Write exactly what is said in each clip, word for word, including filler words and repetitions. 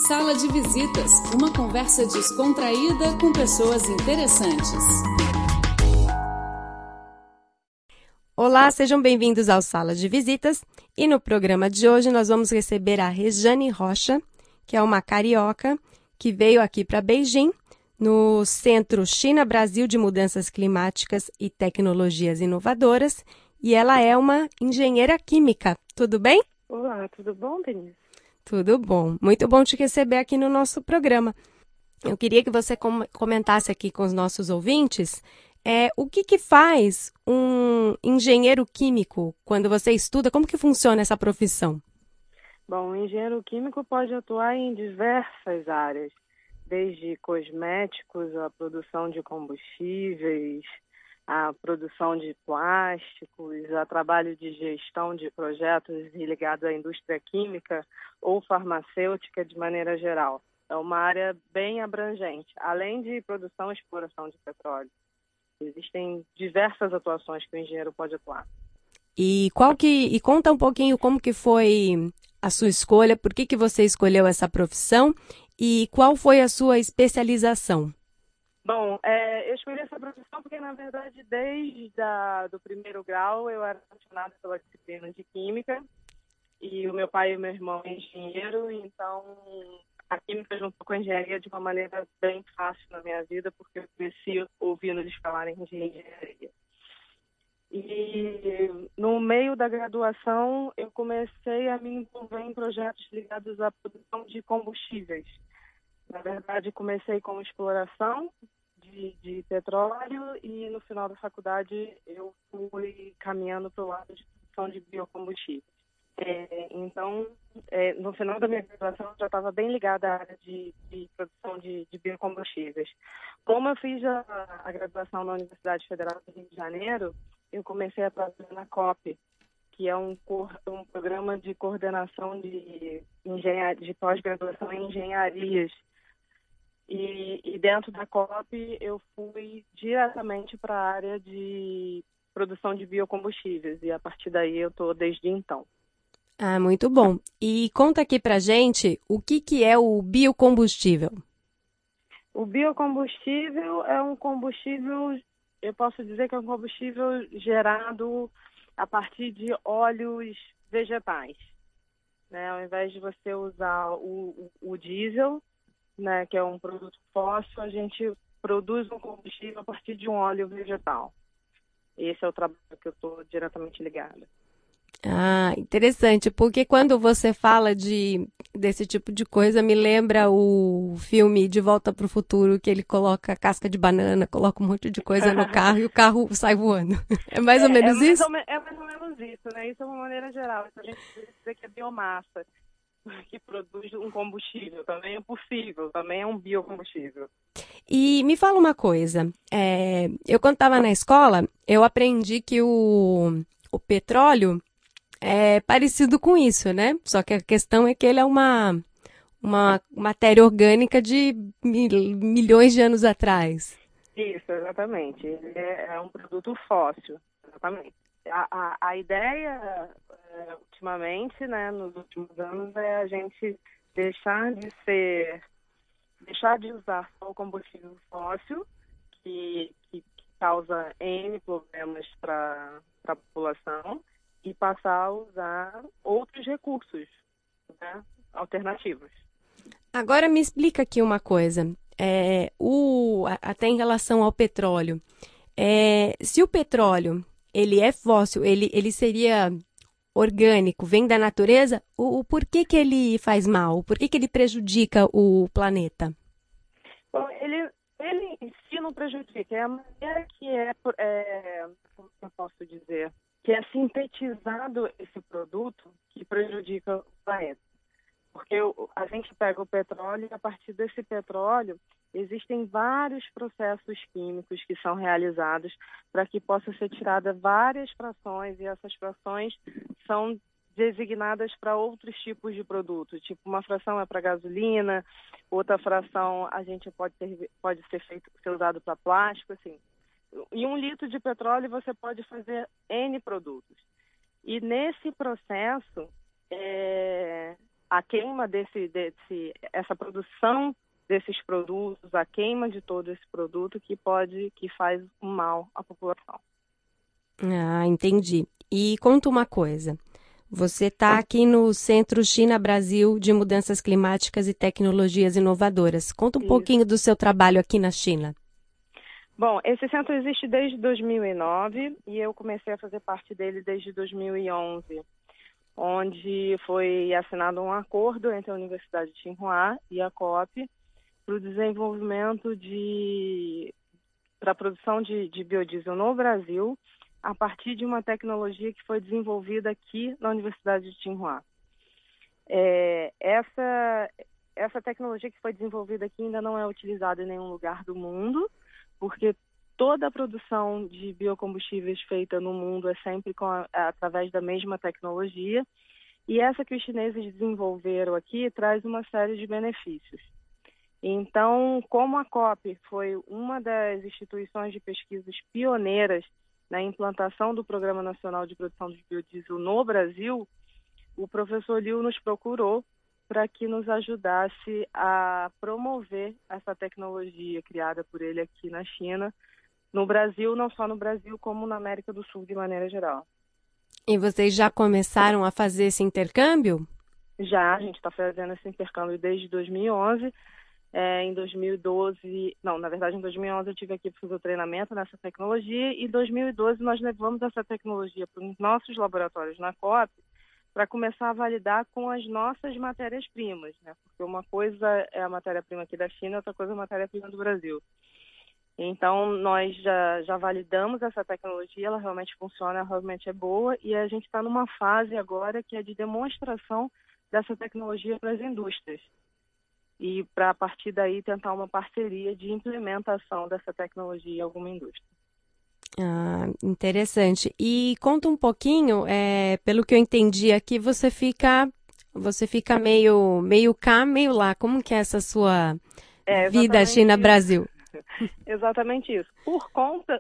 Sala de Visitas, uma conversa descontraída com pessoas interessantes. Olá, sejam bem-vindos ao Sala de Visitas. E no programa de hoje nós vamos receber a Rejane Rocha, que é uma carioca que veio aqui para Beijing, no Centro China-Brasil de Mudanças Climáticas e Tecnologias Inovadoras, e ela é uma engenheira química. Tudo bem? Olá, tudo bom, Denise? Tudo bom. Muito bom te receber aqui no nosso programa. Eu queria que você com- comentasse aqui com os nossos ouvintes é, o que, que faz um engenheiro químico quando você estuda, como que funciona essa profissão? Bom, o engenheiro químico pode atuar em diversas áreas, desde cosméticos, a produção de combustíveis, a produção de plásticos, a trabalho de gestão de projetos ligados à indústria química ou farmacêutica de maneira geral. É uma área bem abrangente, além de produção e exploração de petróleo. Existem diversas atuações que o engenheiro pode atuar. E qual que e conta um pouquinho como que foi a sua escolha, por que que você escolheu essa profissão e qual foi a sua especialização? Bom, é, eu escolhi essa profissão porque, na verdade, desde a, do primeiro grau eu era apaixonada pela disciplina de química e o meu pai e o meu irmão é engenheiro, então a química juntou com a engenharia de uma maneira bem fácil na minha vida, porque eu cresci ouvindo eles falarem de engenharia. E no meio da graduação eu comecei a me envolver em projetos ligados à produção de combustíveis. Na verdade, comecei com exploração de, de petróleo e no final da faculdade eu fui caminhando para o lado de produção de biocombustíveis. É, então, é, no final da minha graduação, eu já estava bem ligada à área de, de produção de, de biocombustíveis. Como eu fiz a, a graduação na Universidade Federal do Rio de Janeiro, eu comecei a trabalhar na COP, que é um, um programa de coordenação de, engenharia, de pós-graduação em engenharias. E, e dentro da COP eu fui diretamente para a área de produção de biocombustíveis e a partir daí eu estou desde então. Ah, muito bom. E conta aqui pra gente o que que é o biocombustível. O biocombustível é um combustível, eu posso dizer que é um combustível gerado a partir de óleos vegetais, né? Ao invés de você usar o, o, o diesel, né, que é um produto fóssil, a gente produz um combustível a partir de um óleo vegetal. Esse é o trabalho que eu estou diretamente ligada. Ah, interessante, porque quando você fala de desse tipo de coisa, me lembra o filme De Volta para o Futuro, que ele coloca casca de banana, coloca um monte de coisa no carro e o carro sai voando. É mais é, ou menos é mais isso? Ou me, é mais ou menos isso, né? Isso é uma maneira geral. Então, a gente pode dizer que é biomassa que produz um combustível. Também é possível, também é um biocombustível. E me fala uma coisa, é, eu quando estava na escola, eu aprendi que o, o petróleo é parecido com isso, né? Só que a questão é que ele é uma, uma matéria orgânica de mil, milhões de anos atrás. Isso, exatamente. Ele é, é um produto fóssil, exatamente. A, a, a ideia, é, ultimamente, né, nos últimos anos, é a gente deixar de ser, deixar de usar só o combustível fóssil, que, que, que causa N problemas para a população, e passar a usar outros recursos, né, alternativos. Agora me explica aqui uma coisa. É, o, até em relação ao petróleo. É, se o petróleo ele é fóssil, ele, ele seria orgânico, vem da natureza, o, o porquê que ele faz mal? O porquê que ele prejudica o planeta? Bom, ele, ele em si não prejudica, é a maneira que é, é, como eu posso dizer, que é sintetizado esse produto que prejudica o planeta. Porque a gente pega o petróleo e a partir desse petróleo existem vários processos químicos que são realizados para que possa ser tirada várias frações e essas frações são designadas para outros tipos de produtos. Tipo, uma fração é para gasolina, outra fração a gente pode ter, pode ser feito, ser usado para plástico, assim. Em um litro de petróleo você pode fazer N produtos. E nesse processo, é, a queima desse, desse, essa produção desses produtos, a queima de todo esse produto que pode, que faz mal à população. Ah, entendi. E conta uma coisa. Você está aqui no Centro China-Brasil de Mudanças Climáticas e Tecnologias Inovadoras. Conta um Isso. pouquinho do seu trabalho aqui na China. Bom, esse centro existe desde dois mil e nove e eu comecei a fazer parte dele desde dois mil e onze, onde foi assinado um acordo entre a Universidade de Tsinghua e a COP para o desenvolvimento de para a produção de, de biodiesel no Brasil, a partir de uma tecnologia que foi desenvolvida aqui na Universidade de Tsinghua. É, essa, essa tecnologia que foi desenvolvida aqui ainda não é utilizada em nenhum lugar do mundo, porque toda a produção de biocombustíveis feita no mundo é sempre com a, através da mesma tecnologia, e essa que os chineses desenvolveram aqui traz uma série de benefícios. Então, como a COP foi uma das instituições de pesquisas pioneiras na implantação do Programa Nacional de Produção de Biodiesel no Brasil, o professor Liu nos procurou para que nos ajudasse a promover essa tecnologia criada por ele aqui na China, no Brasil, não só no Brasil, como na América do Sul de maneira geral. E vocês já começaram a fazer esse intercâmbio? Já, a gente está fazendo esse intercâmbio desde dois mil e onze. É, em dois mil e doze, não, na verdade em dois mil e onze eu tive aqui para fazer o treinamento nessa tecnologia e em dois mil e doze nós levamos essa tecnologia para os nossos laboratórios na COP para começar a validar com as nossas matérias-primas, né? Porque uma coisa é a matéria-prima aqui da China, outra coisa é a matéria-prima do Brasil. Então nós já, já validamos essa tecnologia, ela realmente funciona, ela realmente é boa e a gente está numa fase agora que é de demonstração dessa tecnologia para as indústrias. E para, a partir daí, tentar uma parceria de implementação dessa tecnologia em alguma indústria. Ah, interessante. E conta um pouquinho, é, pelo que eu entendi aqui, você fica, você fica meio, meio cá, meio lá. Como que é essa sua é, vida China-Brasil? Exatamente isso. Por conta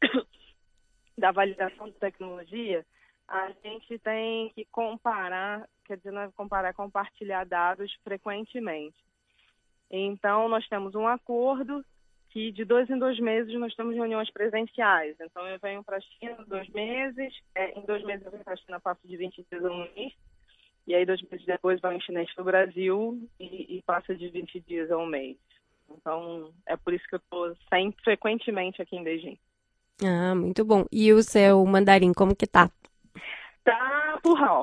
da validação de tecnologia, a gente tem que comparar, quer dizer, não é comparar, é compartilhar dados frequentemente. Então, nós temos um acordo que de dois em dois meses nós temos reuniões presenciais. Então, eu venho para a China dois meses, é, em dois meses eu venho para a China, passo de vinte dias a um mês, e aí dois meses depois vai um chinês para o Brasil e, e passa de vinte dias a um mês. Então, é por isso que eu estou sempre, frequentemente aqui em Beijing. Ah, muito bom. E o seu mandarim, como que tá? Tá burral.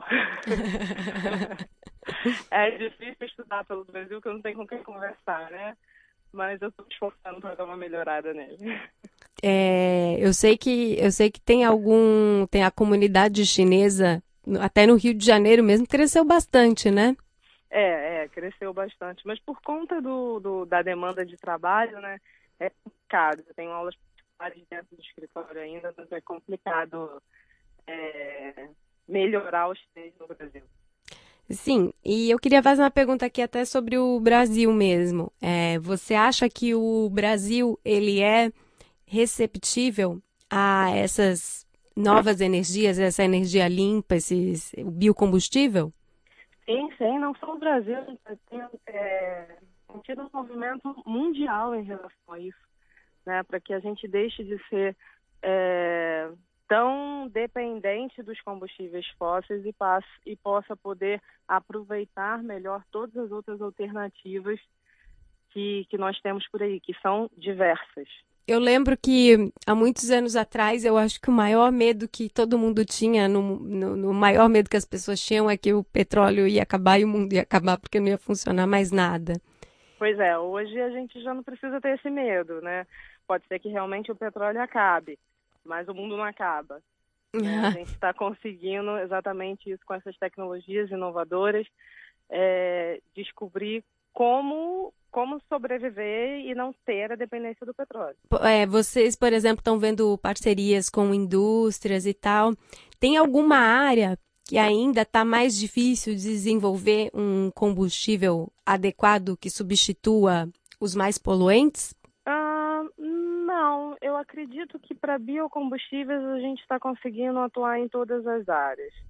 É difícil estudar pelo Brasil, que eu não tenho com quem conversar, né? Mas eu estou me esforçando para dar uma melhorada nele. É, eu sei que eu sei que tem algum, tem a comunidade chinesa, até no Rio de Janeiro mesmo, cresceu bastante, né? É, é, cresceu bastante. Mas por conta do, do, da demanda de trabalho, né, é complicado. Eu tenho aulas particulares dentro do escritório ainda, mas é complicado é, melhorar os chinês no Brasil. Sim, e eu queria fazer uma pergunta aqui até sobre o Brasil mesmo. É, você acha que o Brasil ele é receptível a essas novas energias, essa energia limpa, esses, o biocombustível? Sim, sim, não só o Brasil, tem, é, tem tido um movimento mundial em relação a isso, né, para que a gente deixe de ser é, tão dependente dos combustíveis fósseis e, passe, e possa poder aproveitar melhor todas as outras alternativas que, que nós temos por aí, que são diversas. Eu lembro que há muitos anos atrás, eu acho que o maior medo que todo mundo tinha, no, no, no maior medo que as pessoas tinham é que o petróleo ia acabar e o mundo ia acabar porque não ia funcionar mais nada. Pois é, hoje a gente já não precisa ter esse medo, né? Pode ser que realmente o petróleo acabe, mas o mundo não acaba. Né? A gente está conseguindo exatamente isso com essas tecnologias inovadoras, é, descobrir como, como sobreviver e não ter a dependência do petróleo. É, vocês, por exemplo, estão vendo parcerias com indústrias e tal. Tem alguma área que ainda está mais difícil de desenvolver um combustível adequado que substitua os mais poluentes? Ah, não, eu acredito que para biocombustíveis a gente está conseguindo atuar em todas as áreas.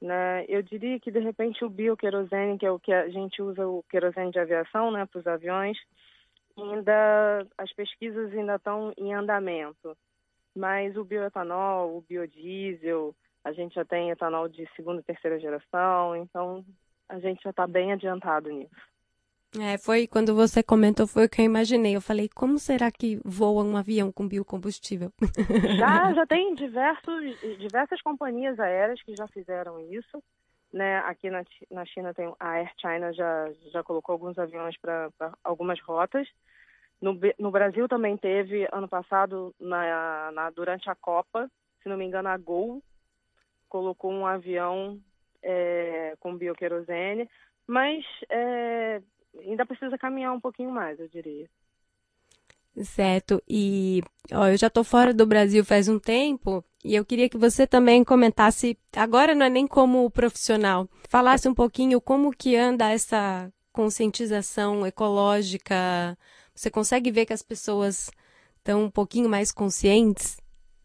né? Eu diria que, de repente, o bioquerosene, que é o que a gente usa, o querosene de aviação, né, para os aviões, ainda as pesquisas ainda estão em andamento. Mas o bioetanol, o biodiesel, a gente já tem etanol de segunda e terceira geração, então a gente já está bem adiantado nisso. É, foi quando você comentou, foi o que eu imaginei. Eu falei, como será que voa um avião com biocombustível? Já, já tem diversos, diversas companhias aéreas que já fizeram isso, né? Aqui na, na China tem a Air China já, já colocou alguns aviões para algumas rotas. No, no Brasil também teve, ano passado, na, na, durante a Copa, se não me engano, a Gol colocou um avião é, com bioquerosene, mas é, ainda precisa caminhar um pouquinho mais, eu diria. Certo. E ó, eu já estou fora do Brasil faz um tempo e eu queria que você também comentasse, agora não é nem como profissional, falasse um pouquinho como que anda essa conscientização ecológica. Você consegue ver que as pessoas estão um pouquinho mais conscientes?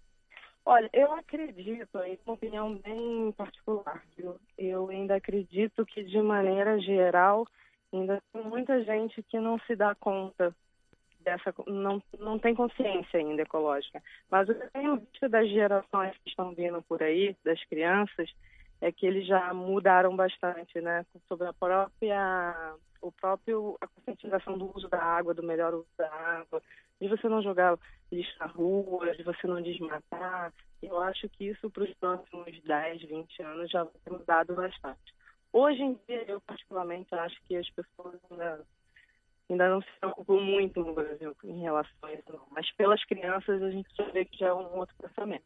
Olha, eu acredito, é uma opinião bem particular, viu? Eu ainda acredito que, de maneira geral, ainda tem muita gente que não se dá conta dessa, não, não tem consciência ainda ecológica. Mas o que eu tenho visto das gerações que estão vindo por aí, das crianças, é que eles já mudaram bastante, né? Sobre a própria, o próprio, a conscientização do uso da água, do melhor uso da água, de você não jogar lixo na rua, de você não desmatar. Eu acho que isso para os próximos dez, vinte anos já vai ter mudado bastante. Hoje em dia, eu particularmente acho que as pessoas ainda, ainda não se preocupam muito no Brasil em relação a isso, não. Mas pelas crianças a gente já vê que já é um outro pensamento.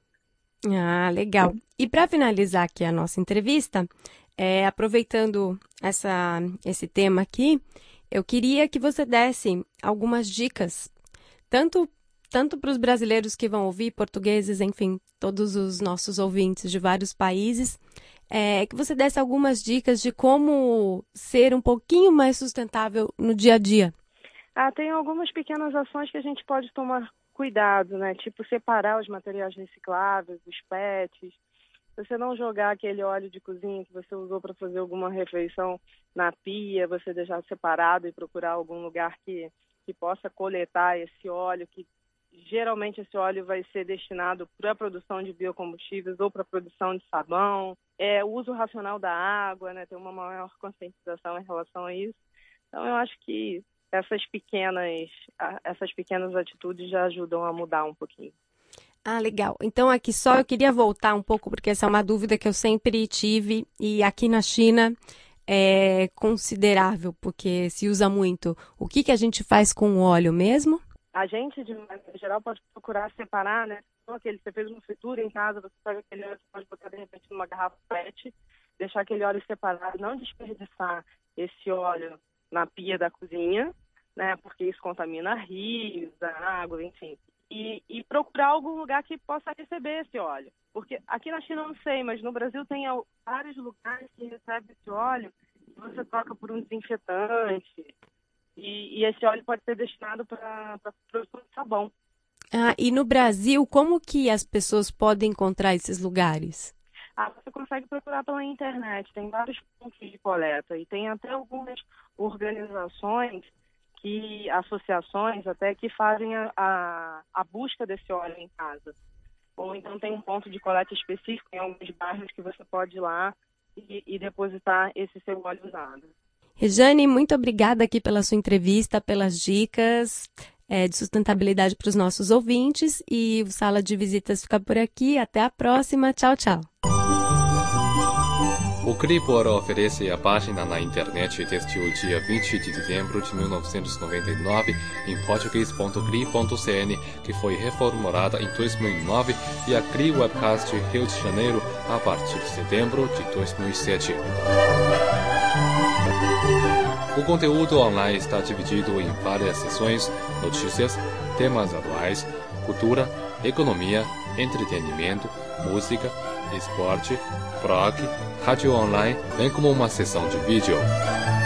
Ah, legal. E para finalizar aqui a nossa entrevista, é, aproveitando essa, esse tema aqui, eu queria que você desse algumas dicas, tanto, tanto para os brasileiros que vão ouvir, portugueses, enfim, todos os nossos ouvintes de vários países, é, que você desse algumas dicas de como ser um pouquinho mais sustentável no dia a dia. Ah, tem algumas pequenas ações que a gente pode tomar cuidado, né? Tipo, separar os materiais recicláveis, os P E Ts. Você não jogar aquele óleo de cozinha que você usou para fazer alguma refeição na pia, você deixar separado e procurar algum lugar que, que possa coletar esse óleo, que geralmente esse óleo vai ser destinado para a produção de biocombustíveis ou para a produção de sabão. É, o uso racional da água, né? Tem uma maior conscientização em relação a isso. Então, eu acho que essas pequenas, essas pequenas atitudes já ajudam a mudar um pouquinho. Ah, legal. Então, aqui só eu queria voltar um pouco, porque essa é uma dúvida que eu sempre tive, e aqui na China é considerável, porque se usa muito. O que, que a gente faz com o óleo mesmo? A gente, de maneira geral, pode procurar separar, né? Então, aquele, você fez uma fritura em casa, você pega aquele óleo, você pode botar, de repente, numa garrafa P E T, deixar aquele óleo separado, não desperdiçar esse óleo na pia da cozinha, né? Porque isso contamina rios, a água, enfim. E, e procurar algum lugar que possa receber esse óleo. Porque aqui na China eu não sei, mas no Brasil tem vários lugares que recebem esse óleo e você troca por um desinfetante. E, e esse óleo pode ser destinado para a produção de sabão. Ah, e no Brasil, como que as pessoas podem encontrar esses lugares? Ah, você consegue procurar pela internet, tem vários pontos de coleta e tem até algumas organizações, que, associações até, que fazem a, a, a busca desse óleo em casa. Ou então tem um ponto de coleta específico em alguns bairros que você pode ir lá e, e depositar esse seu óleo usado. Rejane, muito obrigada aqui pela sua entrevista, pelas dicas é, de sustentabilidade para os nossos ouvintes. E o Sala de Visitas fica por aqui. Até a próxima. Tchau, tchau. O Cribor oferece a página na internet desde o dia vinte de dezembro de mil novecentos e noventa e nove em português ponto cri ponto cn, que foi reformulada em dois mil e nove, e a Cri Webcast Rio de Janeiro a partir de setembro de dois mil e sete. O conteúdo online está dividido em várias seções: notícias, temas atuais, cultura, economia, entretenimento, música, esporte, blog, rádio online, bem como uma seção de vídeo.